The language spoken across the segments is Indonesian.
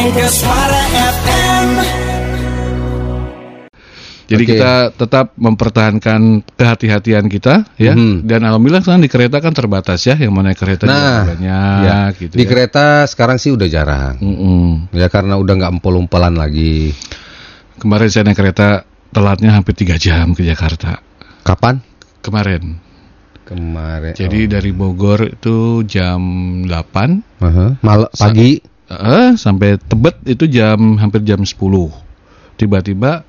Mega Suara FM. Jadi kita tetap mempertahankan kehati-hatian kita ya. Dan alhamdulillah sekarang di kereta kan terbatas ya, yang mana kereta juga banyak gitu. Di kereta sekarang sih udah jarang. Ya karena udah nggak empol-umpelan lagi. Kemarin saya naik kereta telatnya hampir 3 jam ke Jakarta. Kapan? Kemarin. Jadi dari Bogor itu jam 8 pagi sampai Tebet itu hampir jam 10. Tiba-tiba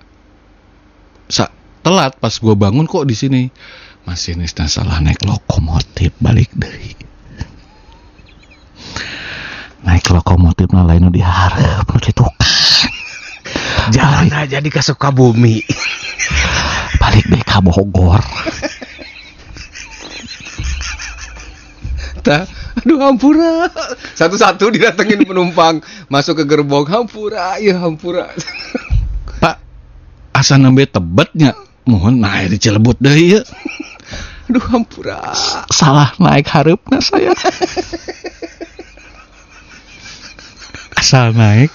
telat pas gue bangun, kok di sini masinisnya salah naik lokomotif, balik deh. Naik lokomotif lain diharap di tukang. Jalan aja di Sukabumi. Balik deh ke Bogor. Aduh hampura. Satu-satu didatengin penumpang masuk ke gerbong. Hampura. Pak, asa nembe Tebetnya, mohon naik di Cilebut deh ya. Aduh hampura. Salah naik hareupna saya. Asal naik.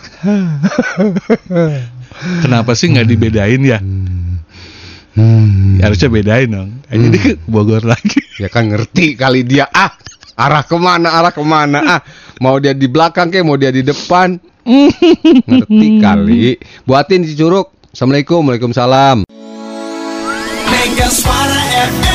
Kenapa sih nggak dibedain ya? Harusnya bedain dong. Jadi ke Bogor lagi. Ya kan ngerti kali dia. Arah kemana? Mau dia di belakang ke, mau dia di depan. Ngerti kali. Buatin si Curug. Assalamualaikum, waalaikumsalam. Mega Suara FM.